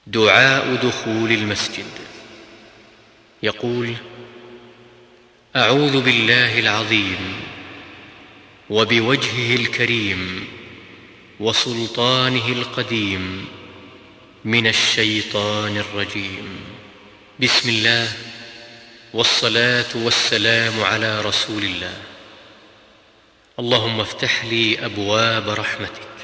دعاء دخول المسجد. يقول: أعوذ بالله العظيم وبوجهه الكريم وسلطانه القديم من الشيطان الرجيم. بسم الله، والصلاة والسلام على رسول الله. اللهم افتح لي أبواب رحمتك